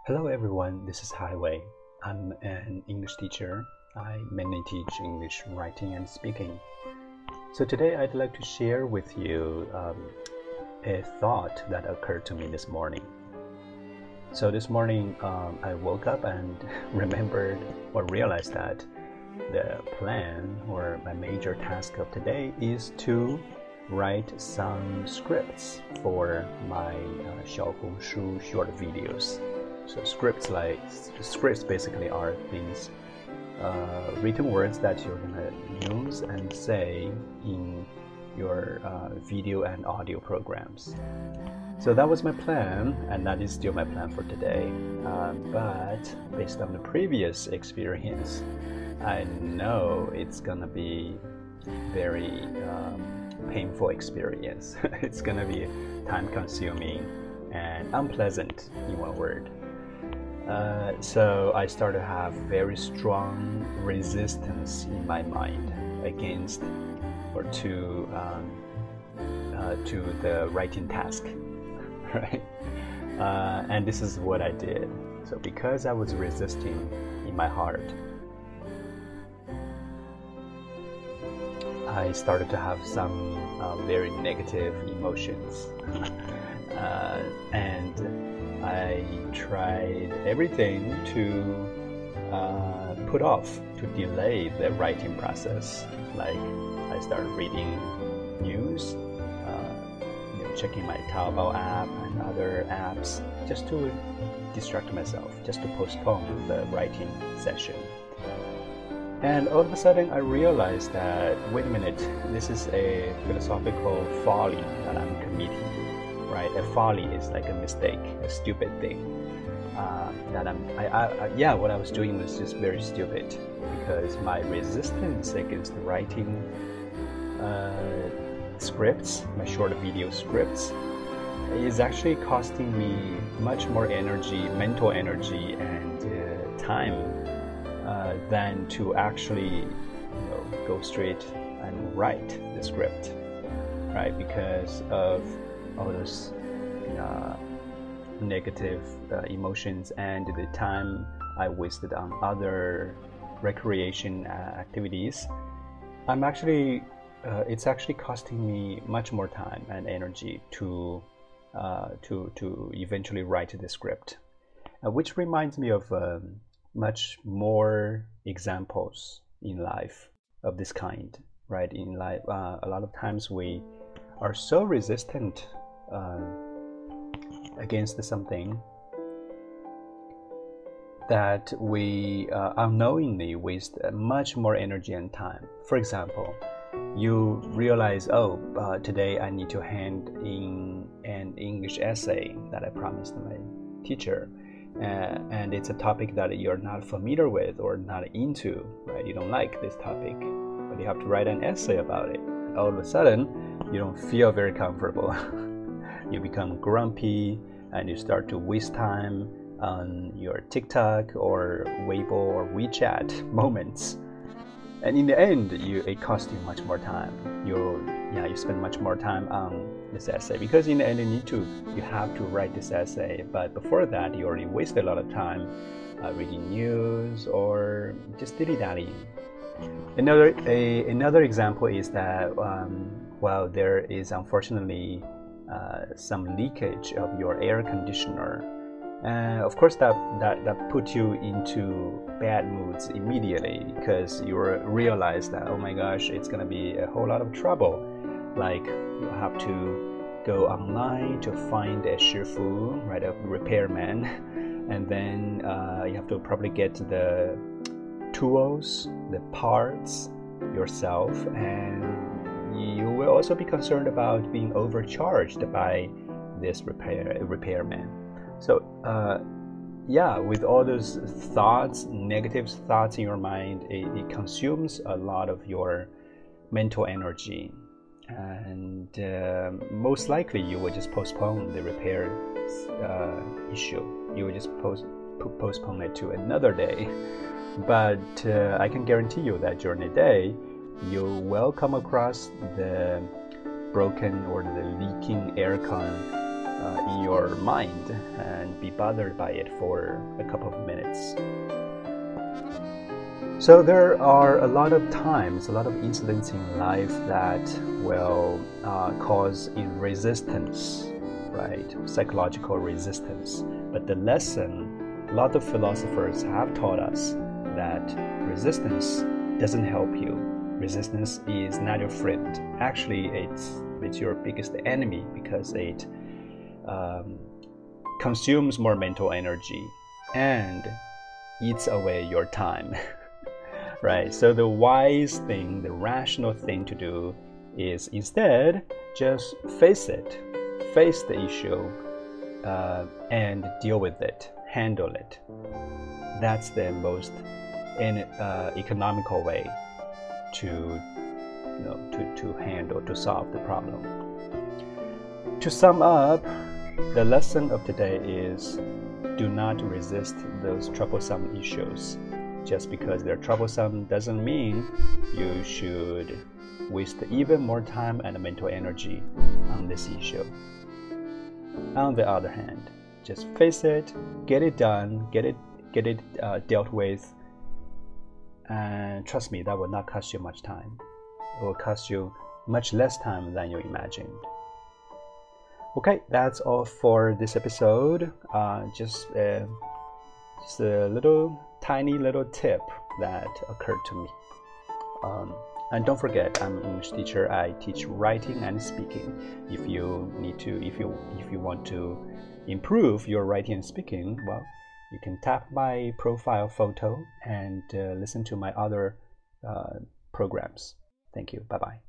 Hello everyone, this is Highway. I'm an English teacher. I mainly teach English writing and speaking. So today I'd like to share with you a thought that occurred to me this morning. So this morning I woke up and remembered or realized that the plan or my major task of today is to write some scripts for my Xiaohongshu short videos. So scripts basically are things, written words that you're gonna use and say in your video and audio programs. So that was my plan, and that is still my plan for today. But based on the previous experience, I know it's gonna be very painful experience. It's gonna be time-consuming and unpleasant in one word. So I started to have very strong resistance in my mind against or to the writing task, right? And this is what I did. So because I was resisting in my heart, I started to have some very negative emotions, and I tried everything to put off, to delay the writing process. Like I started reading news, checking my Taobao app and other apps just to distract myself, just to postpone the writing session. And all of a sudden I realized that, wait a minute, this is a philosophical folly that I'm committing. Right, a folly is like a mistake, a stupid thing. What I was doing was just very stupid because my resistance against writing scripts, my short video scripts, is actually costing me much more energy, mental energy, and time than to actually, go straight and write the script, right? Because of all those negative emotions and the time I wasted on other recreation activities, it's actually costing me much more time and energy to eventually write the script, which reminds me of much more examples in life of this kind, right? In life, a lot of times we are so resistant against something that we unknowingly waste much more energy and time. For example, you realize, today I need to hand in an English essay that I promised my teacher, and it's a topic that you're not familiar with or not into, right? You don't like this topic, but you have to write an essay about it. All of a sudden, you don't feel very comfortable. You become grumpy and you start to waste time on your TikTok or Weibo or WeChat moments. And in the end, it costs you much more time. You spend much more time on this essay because in the end you have to write this essay. But before that, you already wasted a lot of time reading news or just dilly-dallying. Another example is that there is unfortunately some leakage of your air conditioner. Of course, that puts you into bad moods immediately because you realize that, oh my gosh, it's gonna be a whole lot of trouble. Like you have to go online to find a shifu, right, a repairman, and then you have to probably get the tools, the parts yourself, and you will also be concerned about being overcharged by this repairman. So with all those thoughts, negative thoughts in your mind, it consumes a lot of your mental energy, and most likely you will just postpone the repair issue. You will just postpone it to another day. But I can guarantee you that during the day, you will come across the broken or the leaking aircon in your mind and be bothered by it for a couple of minutes. So there are a lot of times, a lot of incidents in life that will cause resistance, right? Psychological resistance. But the lesson, a lot of philosophers have taught us that resistance doesn't help you. Resistance is not your friend. Actually, it's your biggest enemy because it consumes more mental energy and eats away your time. Right? So the wise thing, the rational thing to do is instead just face it, face the issue, and deal with it, handle it. That's the most economical way to handle, to solve the problem. To sum up, the lesson of today is do not resist those troublesome issues. Just because they're troublesome doesn't mean you should waste even more time and mental energy on this issue. On the other hand, just face it, get it done, get it dealt with, and trust me, that will not cost you much time. It will cost you much less time than you imagined. Okay, that's all for this episode. Just a tiny little tip that occurred to me. And don't forget, I'm an English teacher. I teach writing and speaking. If you want to improve your writing and speaking, well, you can tap my profile photo and listen to my other programs. Thank you. Bye-bye.